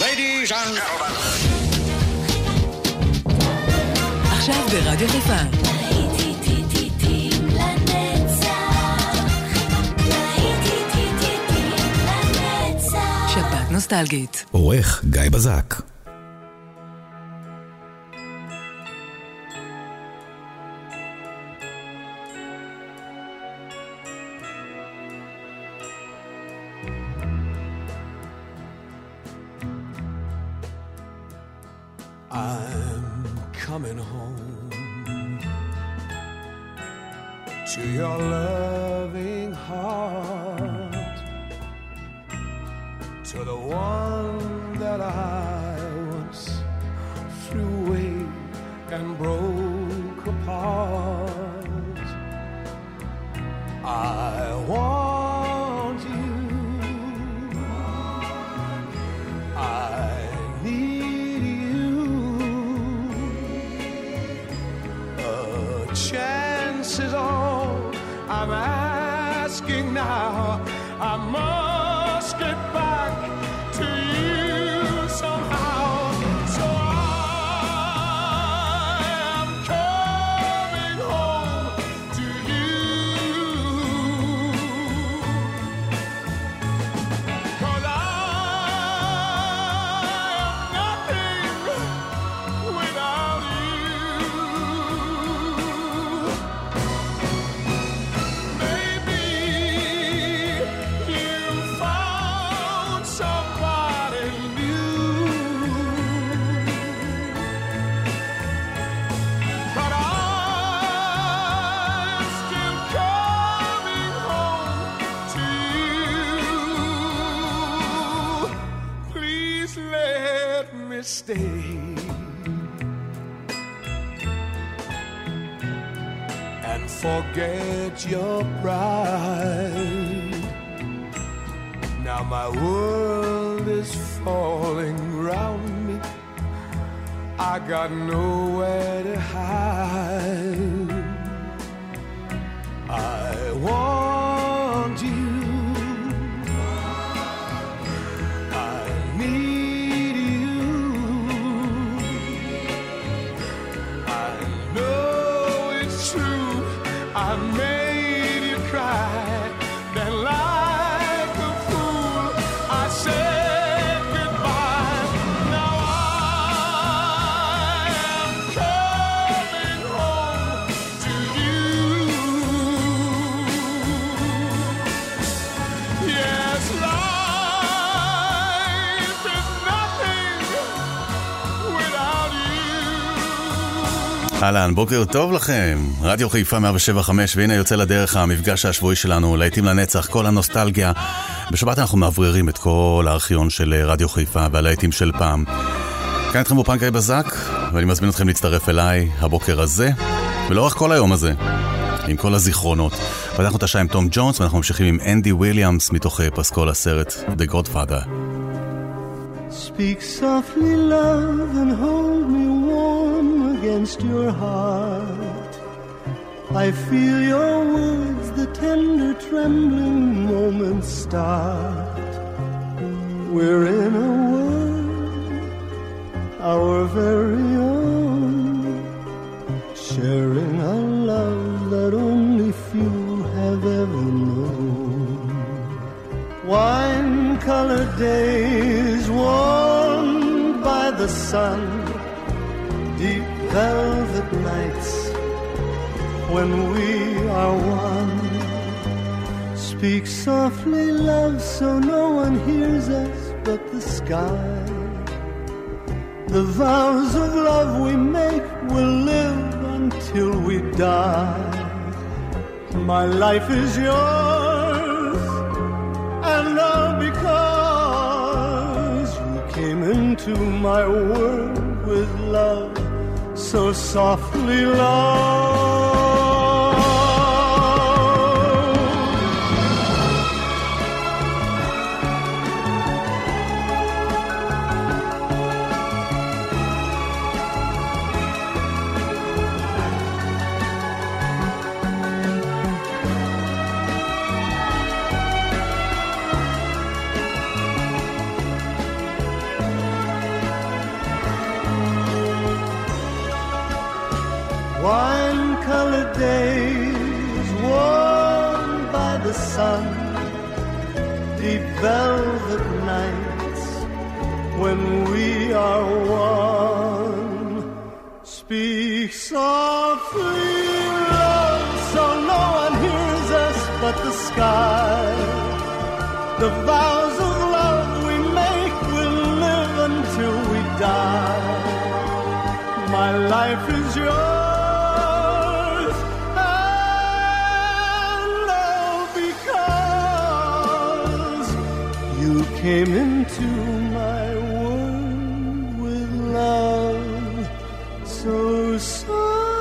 Ladies and gentlemen. עכשיו ברדיו חיפה. שבת נוסטלגית. עורך גיא בזק. Coming home to your loving heart, to the one that I once threw away and broke apart. I want you, I need you. Chance is all I'm asking now. I must get back to you somehow. So I am coming home to you. 'Cause I am nothing without you. Stay and forget your pride. Now my world is falling round me. I got nowhere to hide. I want you. I made you cry, then like a fool I said goodbye. Now I am coming home to you. Yes, life is nothing without you. אהלן, בוקר טוב לכם. רדיו חיפה 107.5, והנה יוצא לדרך המפגש השבועי שלנו, להיטים לנצח, כל הנוסטלגיה. בשבת אנחנו מעבררים את כל הארכיון של רדיו חיפה והלהיטים של פעם. כאן אתכם באופן גיא בזק, ואני מזמין אתכם להצטרף אליי הבוקר הזה, ולאורך כל היום הזה, עם כל הזיכרונות. ואנחנו את השעה עם תום ג'ונס, ואנחנו ממשיכים עם אנדי וויליאמס, מתוך פסקול הסרט The Godfather. Speak softly, love, and hold me warm against your heart. I feel your words, the tender trembling moments start. We're in a world, our very own, sharing a love that only few have ever known. Wine-colored days warmed by the sun, deep velvet nights when we are one. Speak softly, love, so no one hears us but the sky. The vows of love we make will live until we die. My life is yours, and all because you came into my world with love, so softly, love. holidays warmed by the sun, deep velvet nights when we are one. Speak softly, love, so no one hears us but the sky. The vows of love we make will live until we die. My life is yours, and all because you came into my world with love so softly.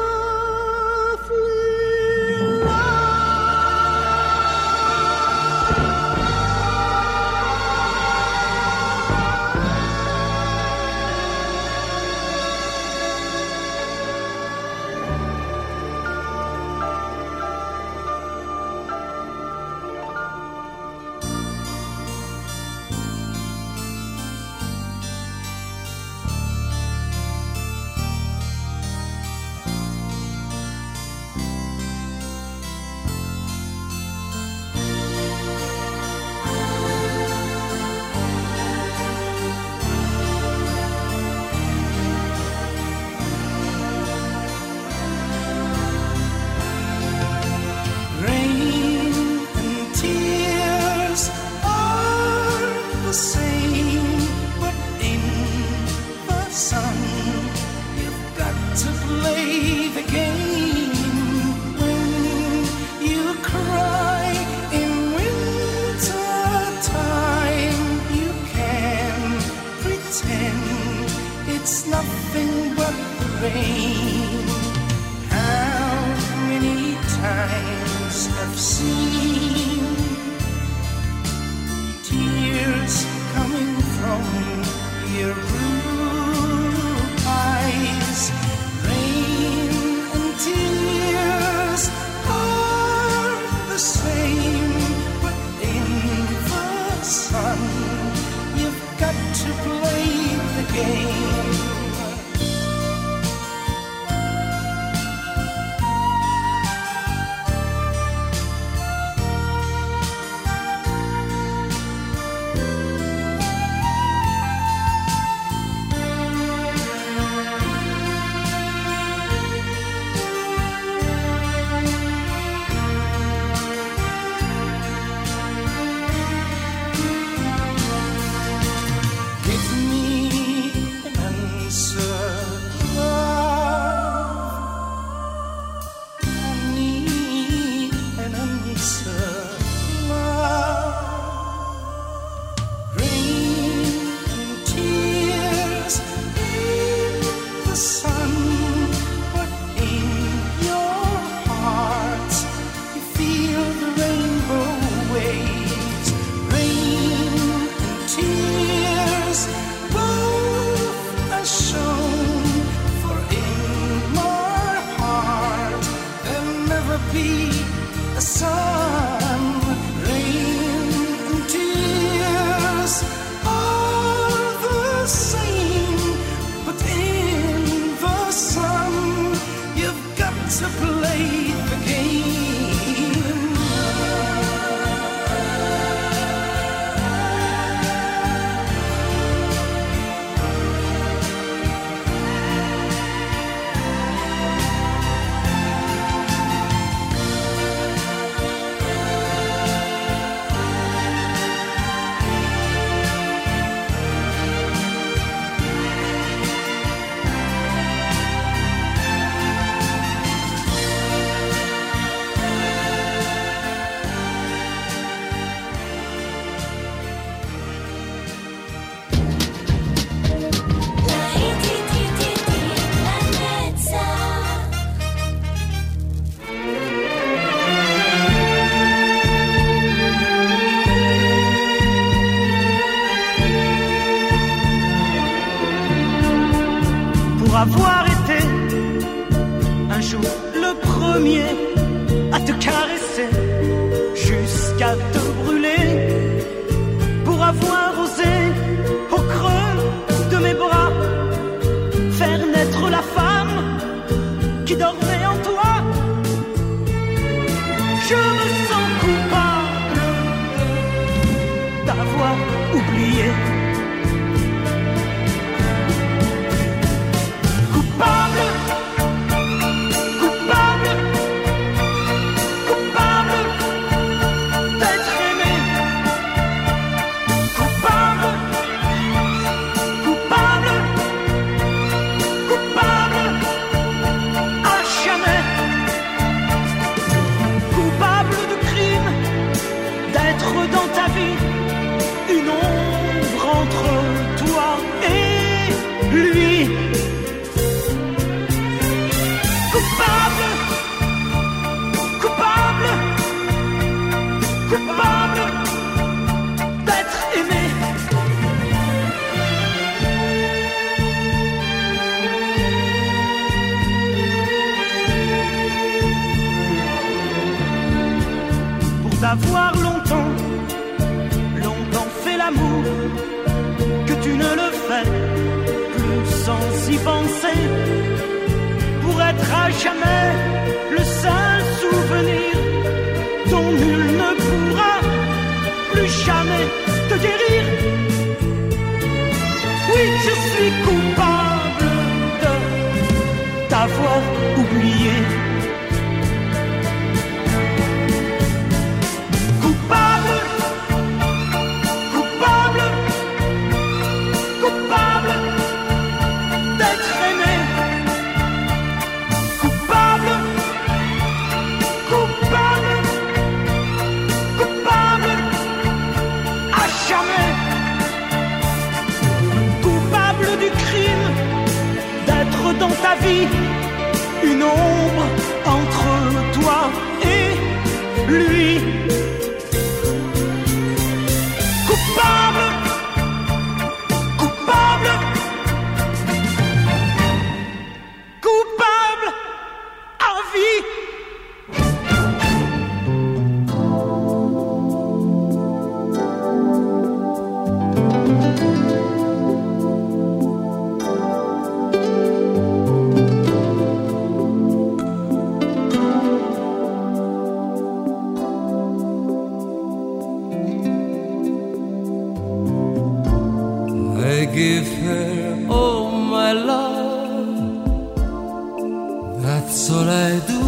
Avoir été un jour le premier à te caresser jusqu'à te brûler, pour avoir osé au creux de mes bras faire naître la femme qui dormait en toi jamais le seul souvenir dont nul ne pourra plus jamais te guérir. Oui, je suis coupable de t'avoir oublié. Coupable, coupable, coupable d'être aimé. Coupable, coupable, coupable à jamais. Coupable du crime d'être dans ta vie une ombre entre toi et lui. Coupable, coupable, coupable à vie. I give her all my love, that's all I do.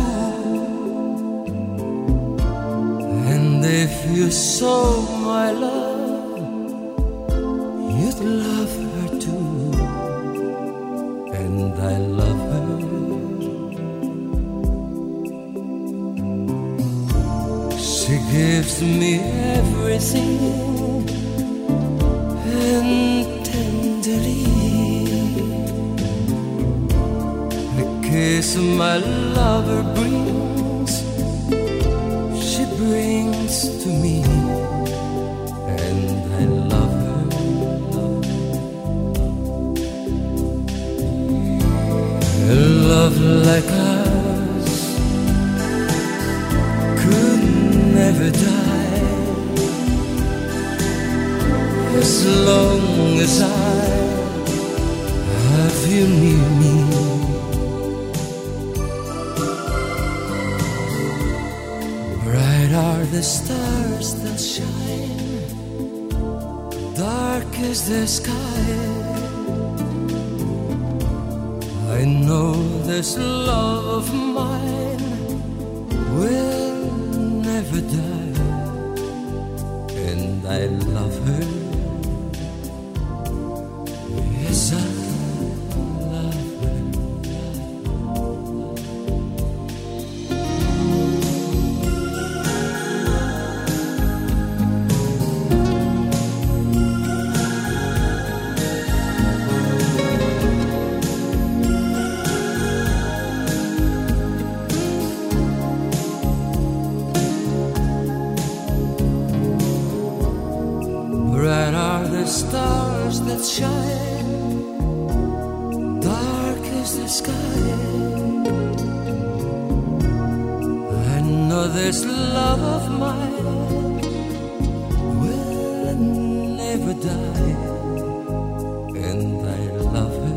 And if you saw my love, you'd love her too. And I love her. She gives me everything, and tenderly the kiss my lover brings, she brings to me, and I love her. A love like ours could never die, as long as I have you near me. Bright are the stars that shine, dark is the sky. I know this love of mine will never die, and I love her. Yes, I love her. Bright are the stars that shine, dark is the sky. I know this love of mine will never die, and I love her.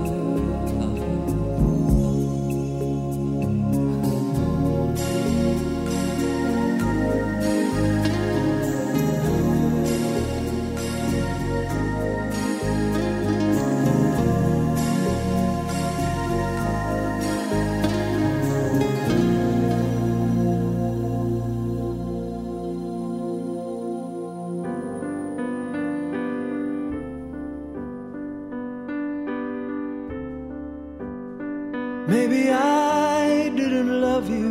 Maybe I didn't love you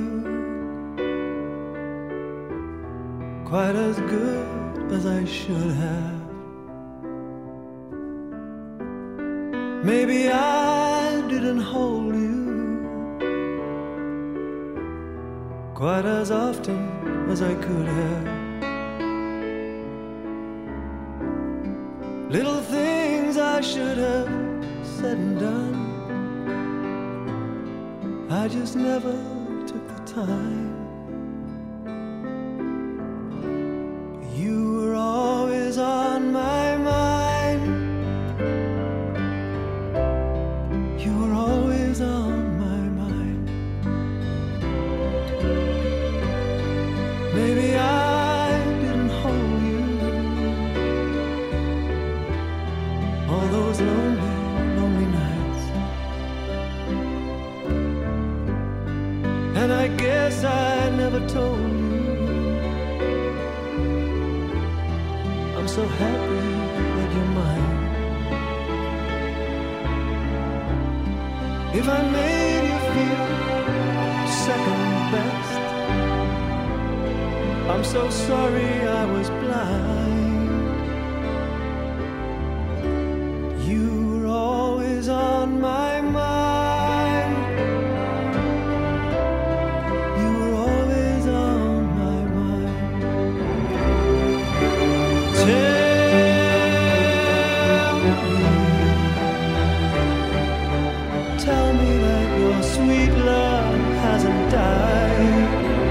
quite as good as I should have. Maybe I didn't hold you quite as often as I could have. Little things I should have said and done, I just never took the time. You were always on my mind. You were always on my mind. lonely, lonely nights. And I guess I never told you I'm so happy that you're mine. If I made you feel second best, I'm so sorry I was blind. You were always on my mind. You were always on my mind. Tell me that your sweet love hasn't died.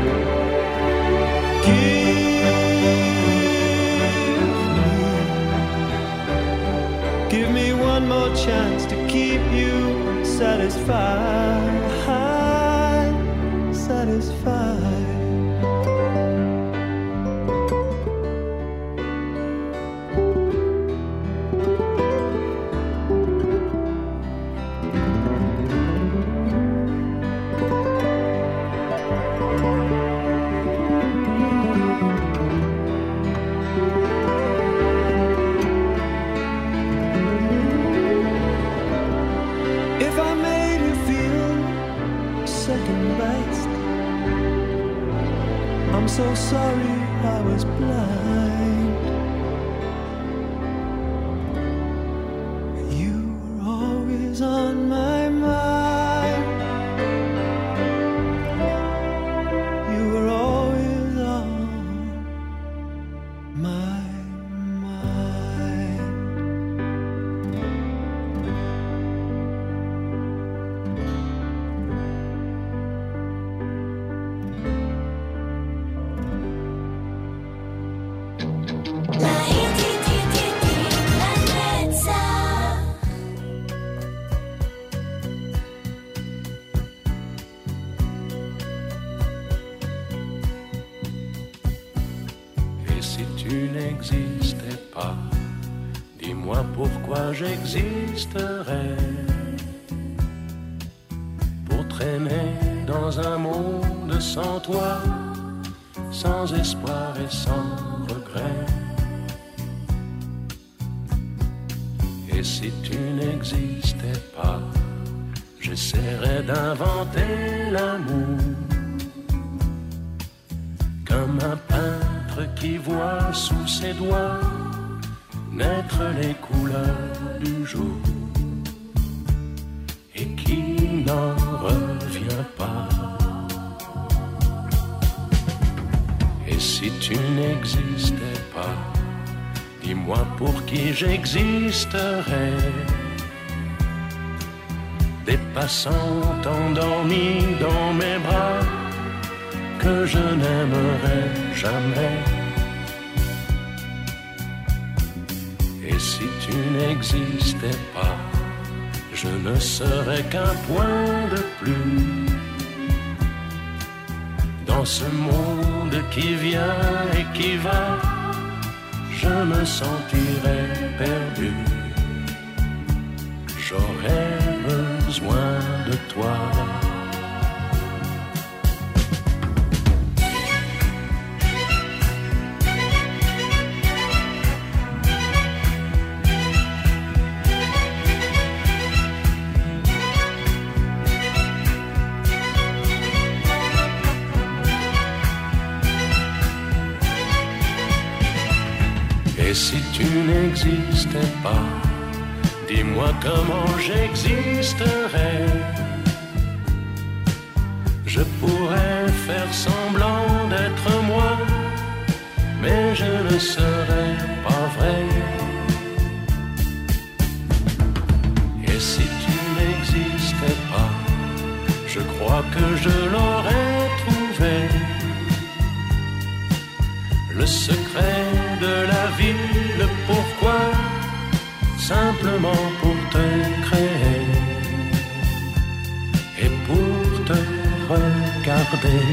Give me one more chance to keep you satisfied, satisfied. I'm so sorry I was blind. You were always on my mind. You were always on my mind. Pourquoi j'existerais pour traîner dans un monde sans toi, sans espoir et sans regret. Et si tu n'existais pas, j'essaierais d'inventer l'amour comme un peintre qui voit sous ses doigts naître les couleurs du jour et qui n'en revient pas. Et si tu n'existais pas, dis-moi pour qui j'existerais. Des passants endormis dans mes bras que je n'aimerais jamais. Et si tu n'existais pas, je ne serais qu'un point de plus dans ce monde qui vient et qui va. Je me sentirais perdu. J'aurais besoin de toi. Et si tu n'existais pas, dis-moi comment j'existerais. Je pourrais faire semblant d'être moi, mais je ne serais pas vrai. Et si tu n'existais pas, je crois que je l'aurais trouvé. Le secret de la vie, le pourquoi, simplement pour te créer et pour te regarder.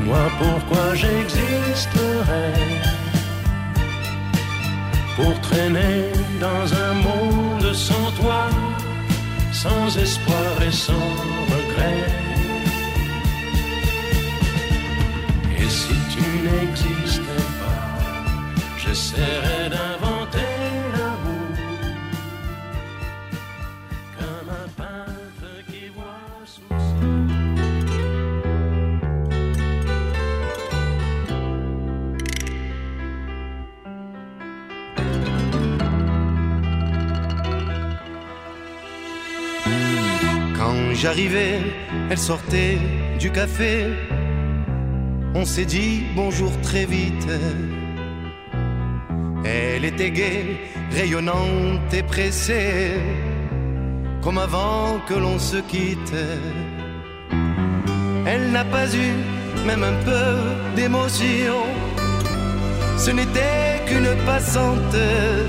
Dis-moi pourquoi j'existerais pour traîner dans un monde sans toi, sans espoir et sans regret. Et si tu n'existais pas, j'essaierais d'inventer l'amour comme un peintre qui voit sous Quand j'arrivais, elle sortait du café. On s'est dit bonjour très vite. Elle était gaie, rayonnante et pressée, comme avant que l'on se quitte. Elle n'a pas eu même un peu d'émotion. Ce n'était qu'une passante,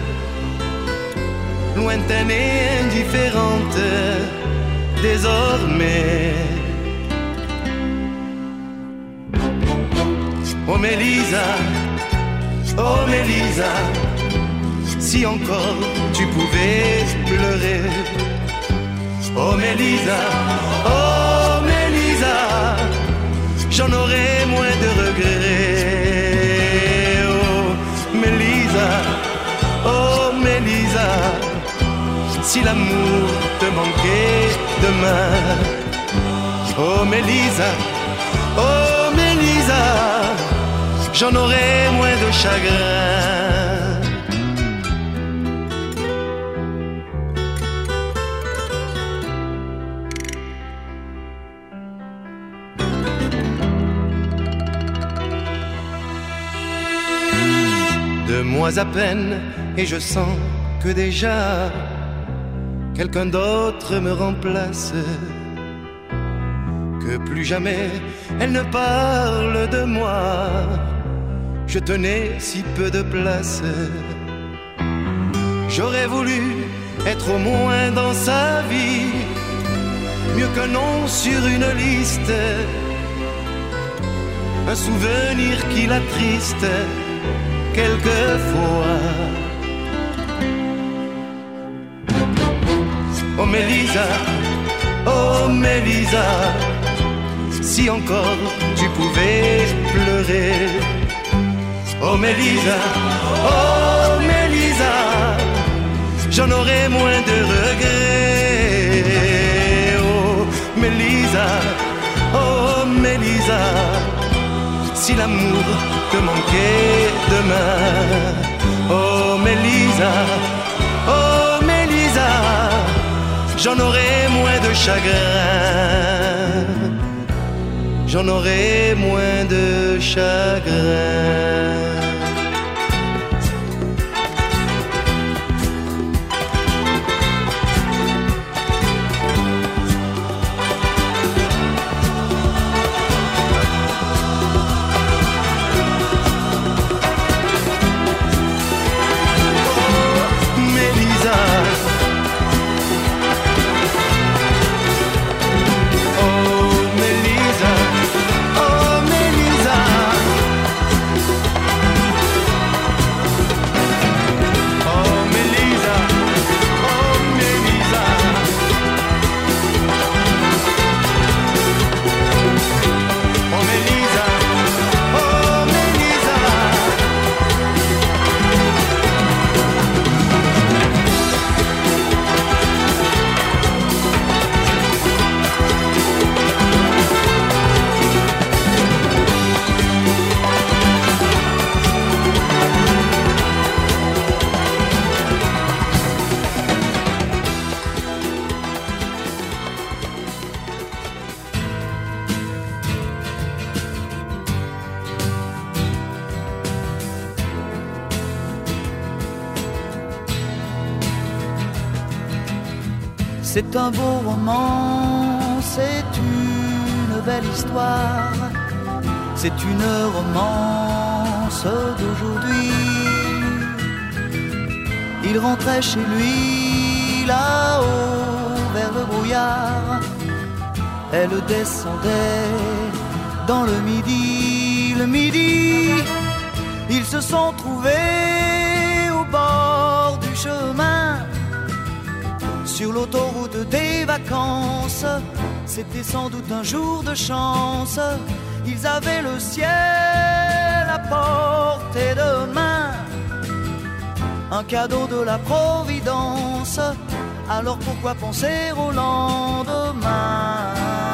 lointaine et indifférente. Désormais, oh Mélisa, oh Mélisa, si encore tu pouvais pleurer. Oh Mélisa, oh Mélisa, j'en aurais moins de regrets. Oh Mélisa, oh Mélisa, si l'amour te manquait demain. Oh Mélisa, oh Mélisa, j'en aurais moins de chagrin. Deux mois à peine et je sens que déjà quelqu'un d'autre me remplace, que plus jamais elle ne parle de moi. Je tenais si peu de place. J'aurais voulu être au moins dans sa vie, mieux qu'un nom sur une liste, un souvenir qui l'attriste quelquefois. Oh Mélisa, oh Mélisa, si encore tu pouvais pleurer. Oh Mélisa, oh Mélisa, j'en aurais moins de regrets. Oh Mélisa, oh Mélisa, si l'amour te manquait demain. Oh Mélisa, oh Mélisa, j'en aurais moins de chagrin. J'en aurais moins de chagrin. C'est un beau roman, c'est une belle histoire, c'est une romance d'aujourd'hui. Il rentrait chez lui là-haut vers le brouillard, elle descendait dans le midi, ils se sont trouvés au bord du chemin, sur l'autoroute des vacances. C'était sans doute un jour de chance, ils avaient le ciel à portée de main, un cadeau de la Providence. Alors pourquoi penser au lendemain?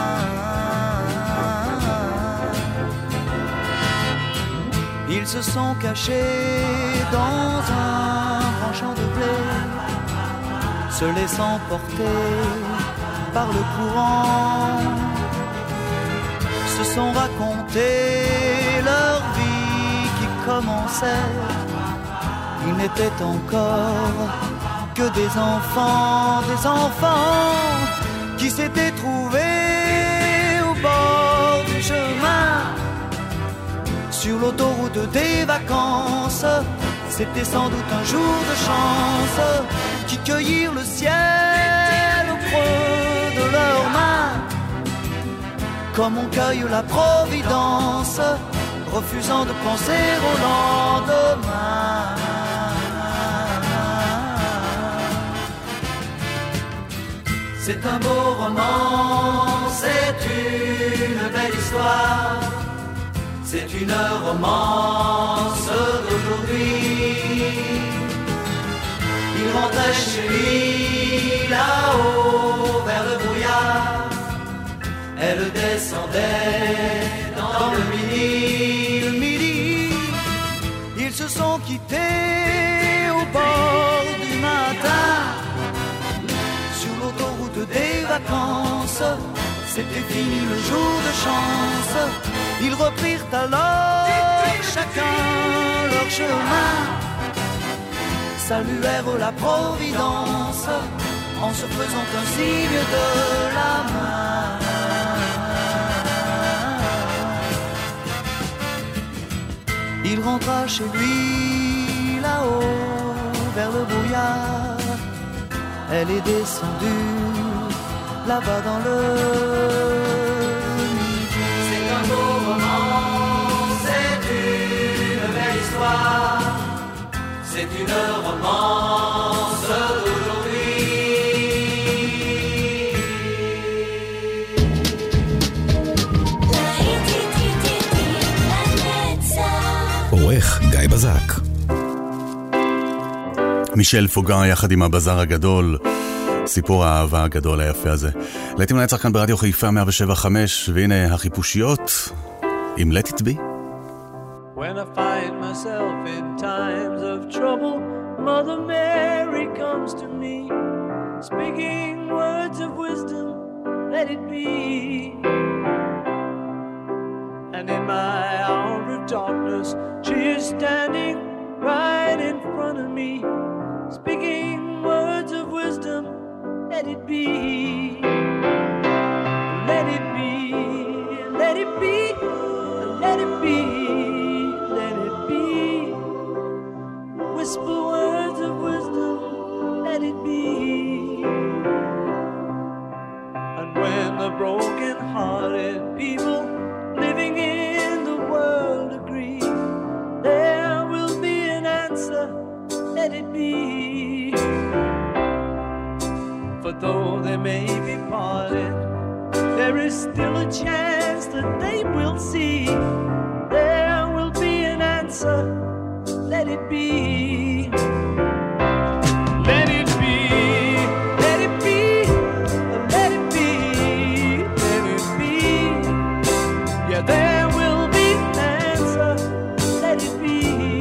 Ils se sont cachés dans un grand champ de blé, se laissant porter par le courant, se sont racontés leur vie qui commençait. Ils n'étaient encore que des enfants qui s'étaient trouvés au bord du chemin, sur l'autoroute des vacances. C'était sans doute un jour de chance, qui cueillirent le ciel au creux de leurs mains, comme on cueille la Providence, refusant de penser au lendemain. C'est un beau roman, c'est une belle histoire, c'est une romance d'aujourd'hui. Il rentrait chez lui là-haut vers le brouillard, elle descendait dans le midi. Ils se sont quittés au bord du matin, sur l'autoroute des vacances. C'était fini le jour de chance. Ils reprirent alors chacun leur chemin, saluèrent la Providence en se faisant un signe de la main. Il rentra chez lui là-haut vers le brouillard, elle est descendue là-bas dans le midi. C'est un beau roman, c'est une belle histoire, c'est une romance d'aujourd'hui. עורך גיא בזק. מישל פוגן יחד עם הבזאר הגדול, סיפור האהבה הגדול היפה הזה. להיטים לנצח כאן ברדיו חיפה 107.5, והנה החיפושיות עם Let It Be. When I find myself in times of trouble, Mother Mary comes to me, speaking words of wisdom, let it be. And in my hour of darkness, she is standing right in front of me, speaking words of wisdom, let it be. Let it be, let it be, let it be, let it be. Whisper words of wisdom, let it be. And when the broken-hearted people living in the world agree, there will be an answer, let it be. For though they may be parted, there is still a chance that they will see. There will be an answer, let it be. Let it be, let it be, let it be, let it be. Yeah, there will be an answer, let it be.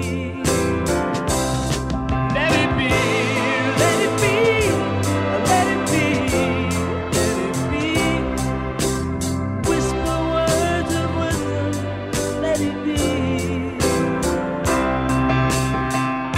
Let it be, let it be, let it be, let it be. Whisper words of wisdom, let it be.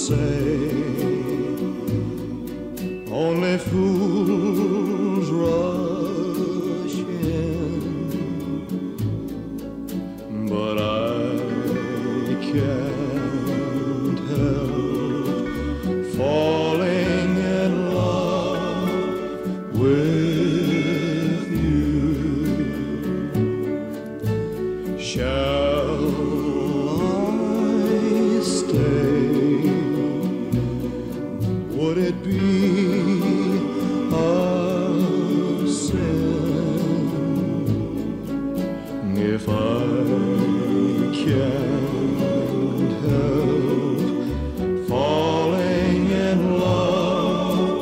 say only fools rush in, but I can't help falling in love with you. Shall I stay? Would it be a sin if I can't help falling in love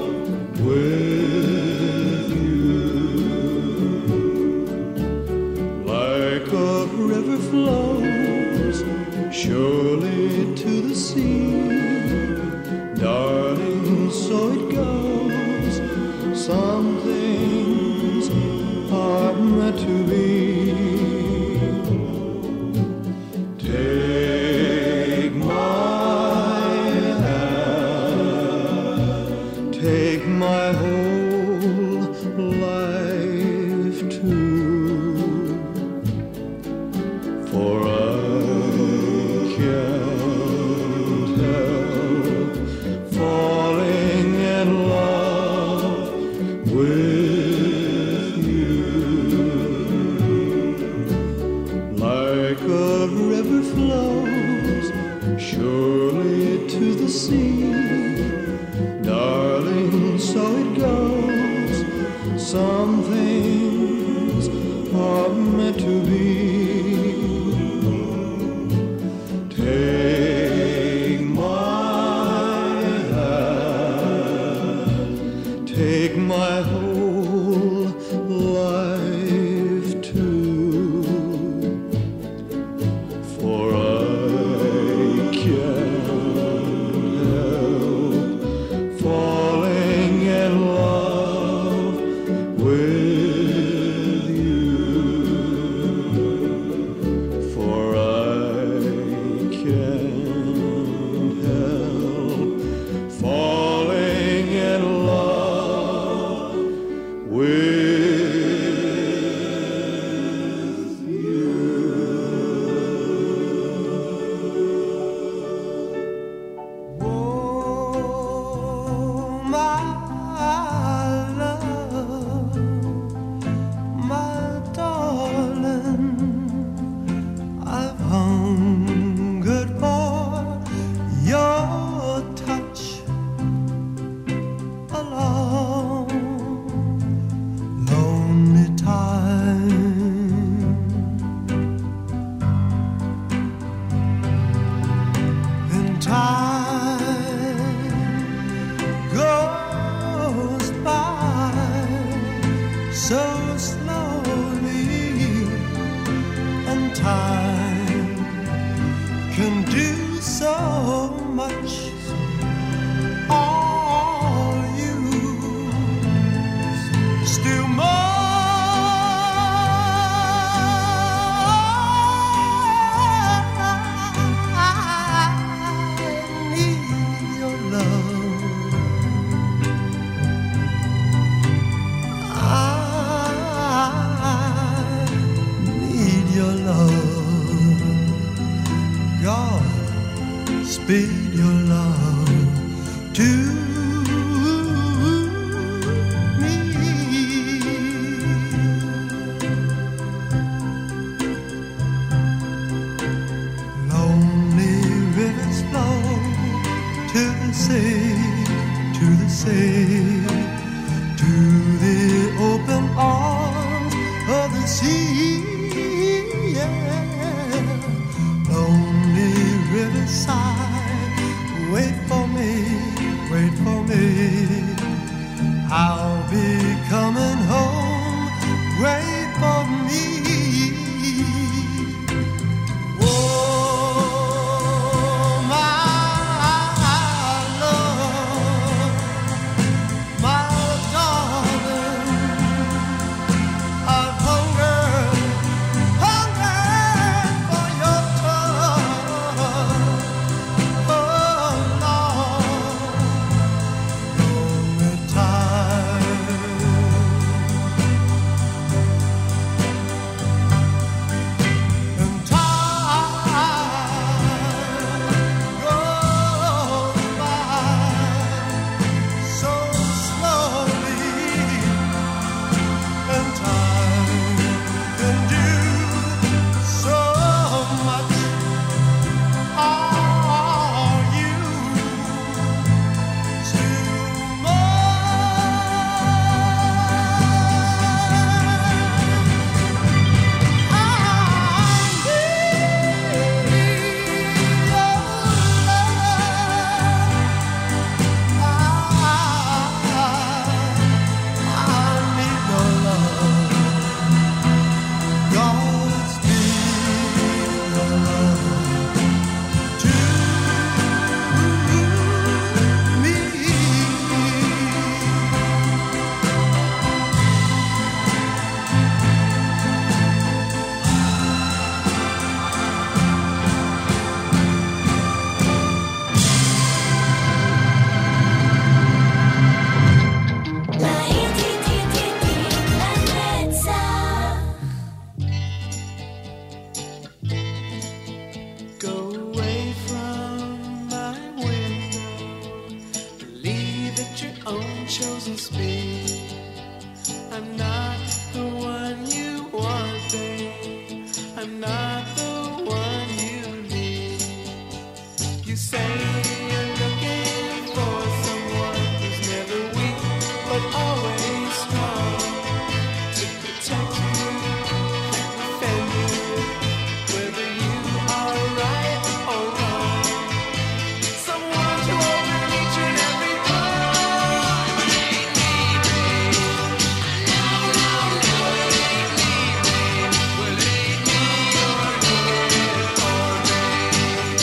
with you? Like a river flows surely to the sea, darling, so it goes. Some things are meant to be. Take my hand, take my whole life too, for I can't help falling in love with you. Like a river flows surely to the sea, darling, so it goes. Some things are meant to be. Take my hand, take my whole life too, for I can't help falling in love with you, for I can't help falling in love with you. Oh, my love, my darling, I've hungered for your touch a long, lonely time. And time goes by so slowly, and time can do so much. All you still speed your love to me. Lonely rivers flow to the sea, to the sea, to the open arms of the sea. Yeah. Lonely riverside, wait for me, wait for me. I'm not the one you need. You say you're looking for someone who's never weak but always strong, to protect you, defend you, whether you are right or wrong. Someone to open each and every door. It ain't me, babe. No, no, no, it ain't me, babe. Well, it ain't me you're looking for, babe.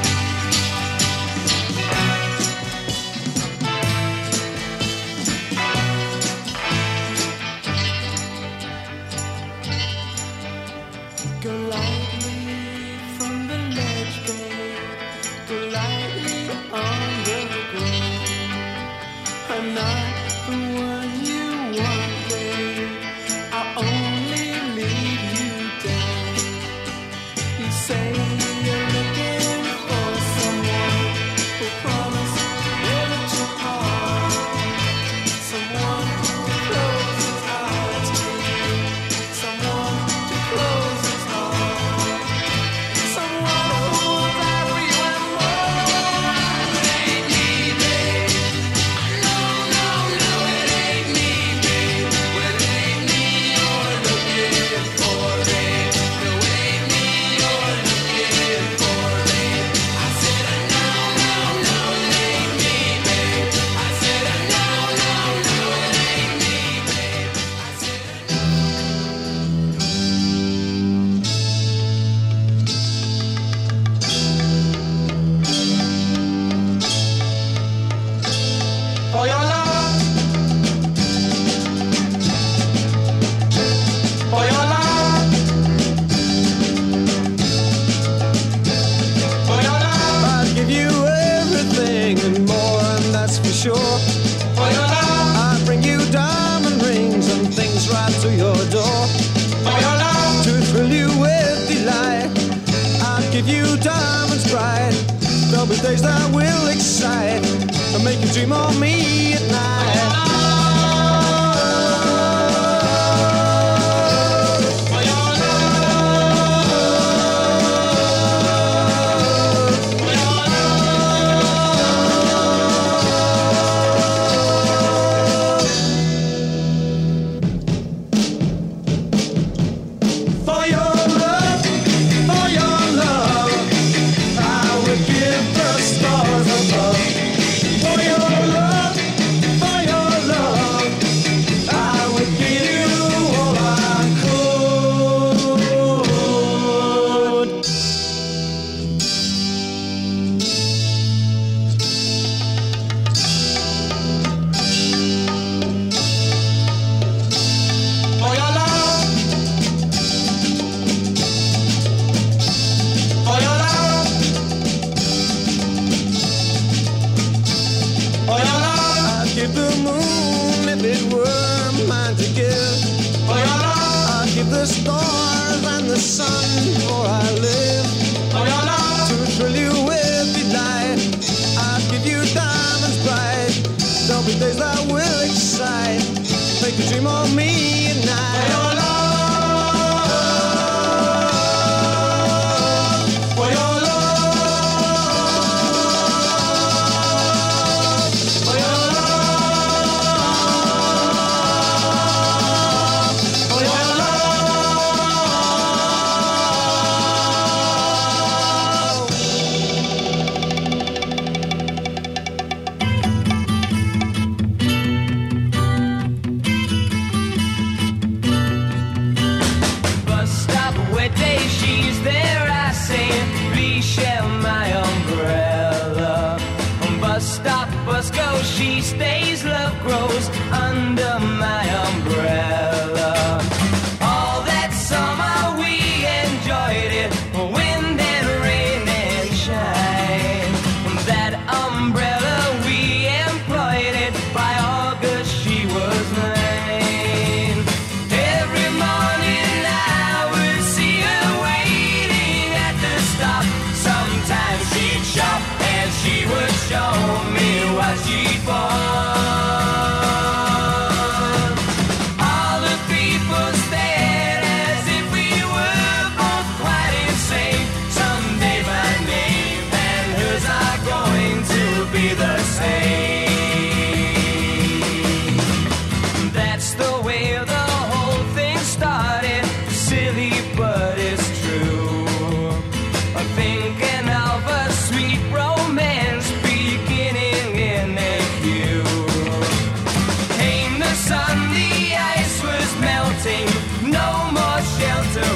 Go lightly from the ledge, babe. Go lightly on the ground. I'm not the one you want, babe. I'll only lead you down. You say you're looking for someone who promise never to part. Someone to close his eyes to you. Someone to close his heart. Someone who will die for you and more. It ain't me, babe. No, no, no, it ain't me, babe. Well, it ain't me you're looking for, babe. No, it ain't me you're looking for, babe. I said no, no, no, it ain't me, babe. I said no, no, no, it ain't me, babe. I said For your love, for your love, for your love, I'd give you everything and more, and that's for sure. for your love, I'd bring you diamond rings and things right to your door. for your love, To thrill you with delight, I'd give you diamonds bright. There'll be days that will excite and make you dream of me at night. for your love, for your For your love, I would give the stars above. For your love,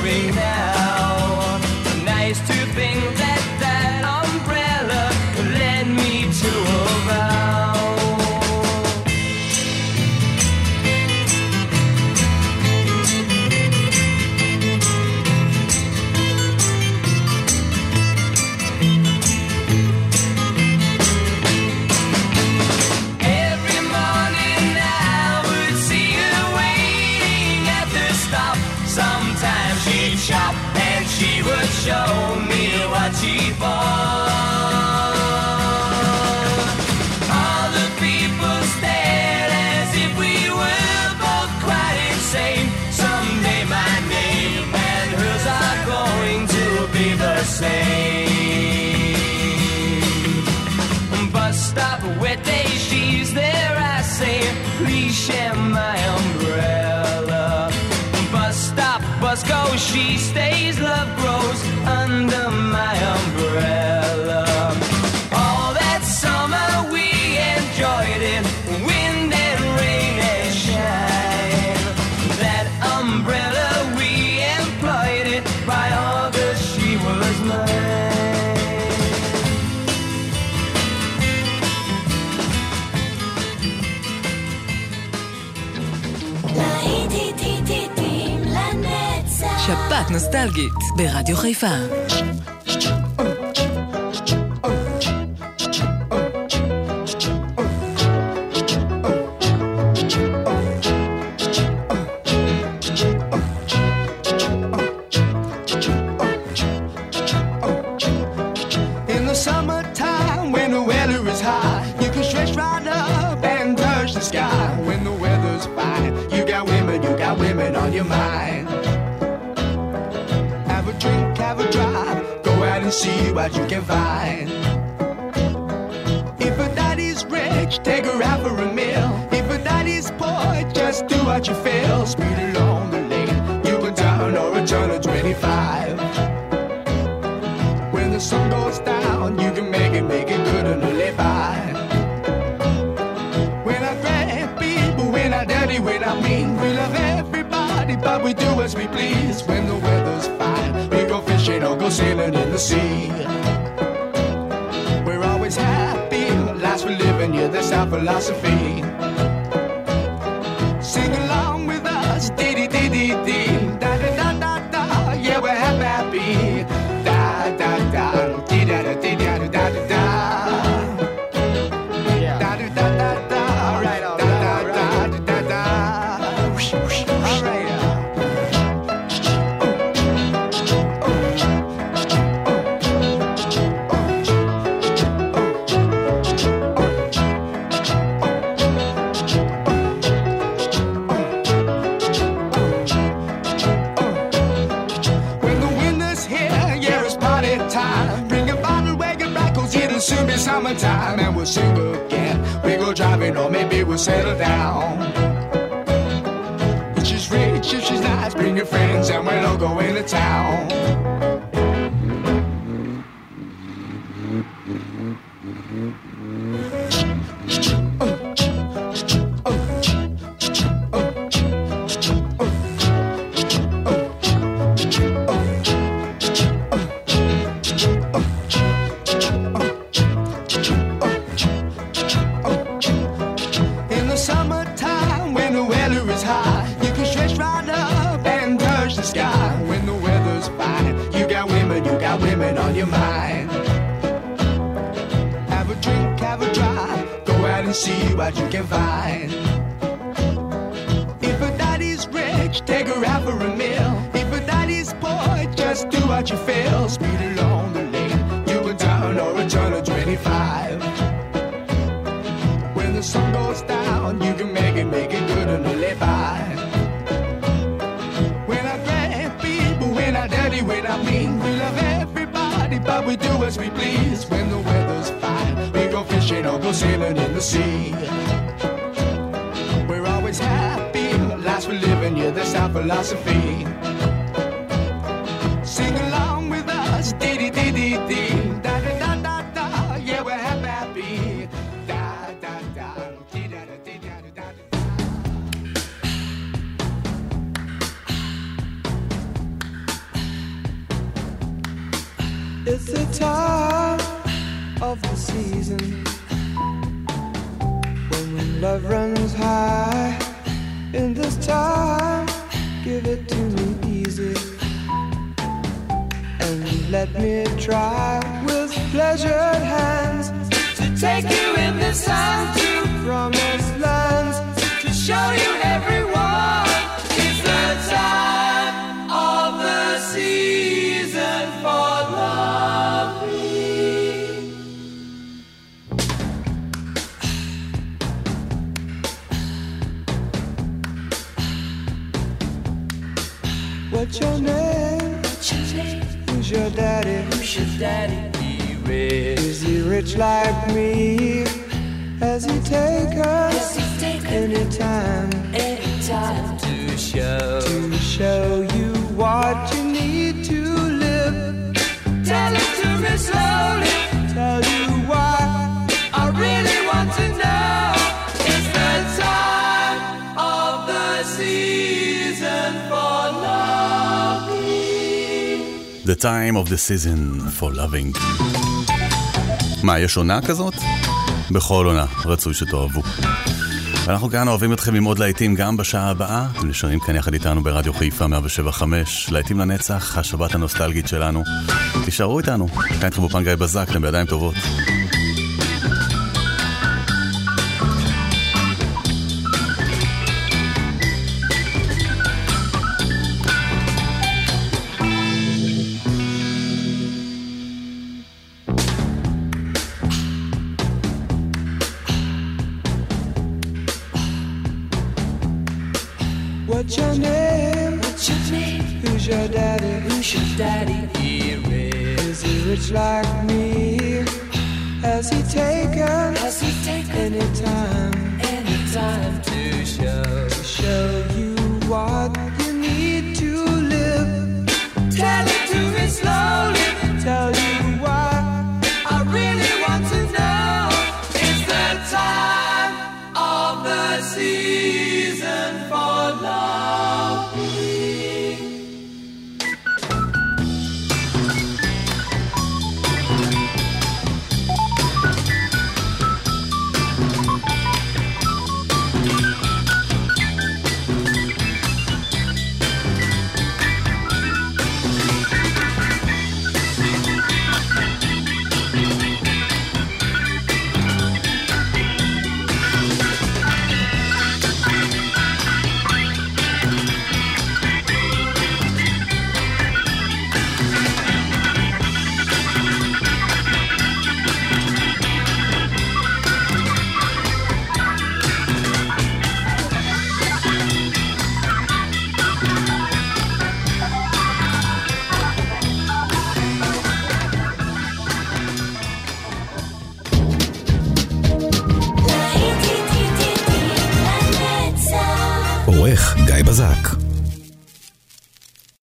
ring now. Nice to think that that umbrella led me to a vow. Every morning I would see her waiting at the stop. Sometimes she'd shop and she would show me what she bought. All the people stared as if we were both quite insane. Someday my name and hers are going to be the same. Bus stop, wet day, she's there, I say, please share my umbrella. Bus stop, bus goes, she stays, love grows under my umbrella. All that summer we enjoyed it, wind and rain and shine. That umbrella we employed it, by August she was mine. שפעת נוסטלגית ברדיו חיפה. In the summertime, when the weather is high, you can stretch right up and touch the sky. When the weather's fine, you got women on your mind. Have a drink, have a drive, go out and see what you can find. If a daddy's rich, take her out for a meal. If a daddy's poor, just do what you feel. Speed along the lane, you can down or a turn of 25. When the sun goes down, you can make it good and live by. When I grab people, when I dirty, when I mean, we love everybody, but we do as we please. When the weather's fine, we go fishing or go sailing in the sea. We're always happy, life's for living, yeah, that's our philosophy. Sing along with us, dee-dee-dee-dee-dee, da-da-da-da-da, yeah, we're happy. Da-da-da, dee-da-da-dee-da-da-da-da. Da-da-da-da-da, all right, da-da-da-da-da-da. All right. Soon be summertime and we'll sing again. We go driving or maybe we'll settle down. If she's rich, if she's nice, bring your friends and we'll all go into town. See what you can find. If a daddy's rich, take her out for a meal. If a daddy's poor, just do what you feel. Speed along the lane, you can turn or a turn of 25. When the sun goes down, you can make it good and live by. When I grab people, when I dirty, when I mean, we love everybody, but we do as we please. When the weather's fine, we go fishing or go sailing in the sea. We're always happy, life's for living, yeah, that's our philosophy. Sing along with us, dee-dee-dee-dee-dee, da-da-da-da-da, yeah, we're happy, da-da-da, dee-da-da-dee-da-da-da. It's the time of the season when love runs high. In this time, give it to me easy, and let me try with pleasured hands to take you in the sun to promised lands, to show you everyone. It's the time of the season for loving. What's your name? Who's your daddy? Is he rich like me? Has he taken anytime to show you what you need to live? Tell it to me slowly. Tell you why I really want to know. It's the time of the season for loving. The time of the season for loving. מה, יש עונה כזאת? בכל עונה, רצוי שתאהבו. ואנחנו כאן אוהבים אתכם עם עוד להיטים גם בשעה הבאה. אתם נשארים כאן יחד איתנו ברדיו חיפה 107.5. להיטים לנצח, השבת הנוסטלגית שלנו. תישארו איתנו. כאן איתכם באופן גיא בזק, אתם בידיים טובות. What's your name? Who's your daddy? Is he rich like me? Has he taken any time to show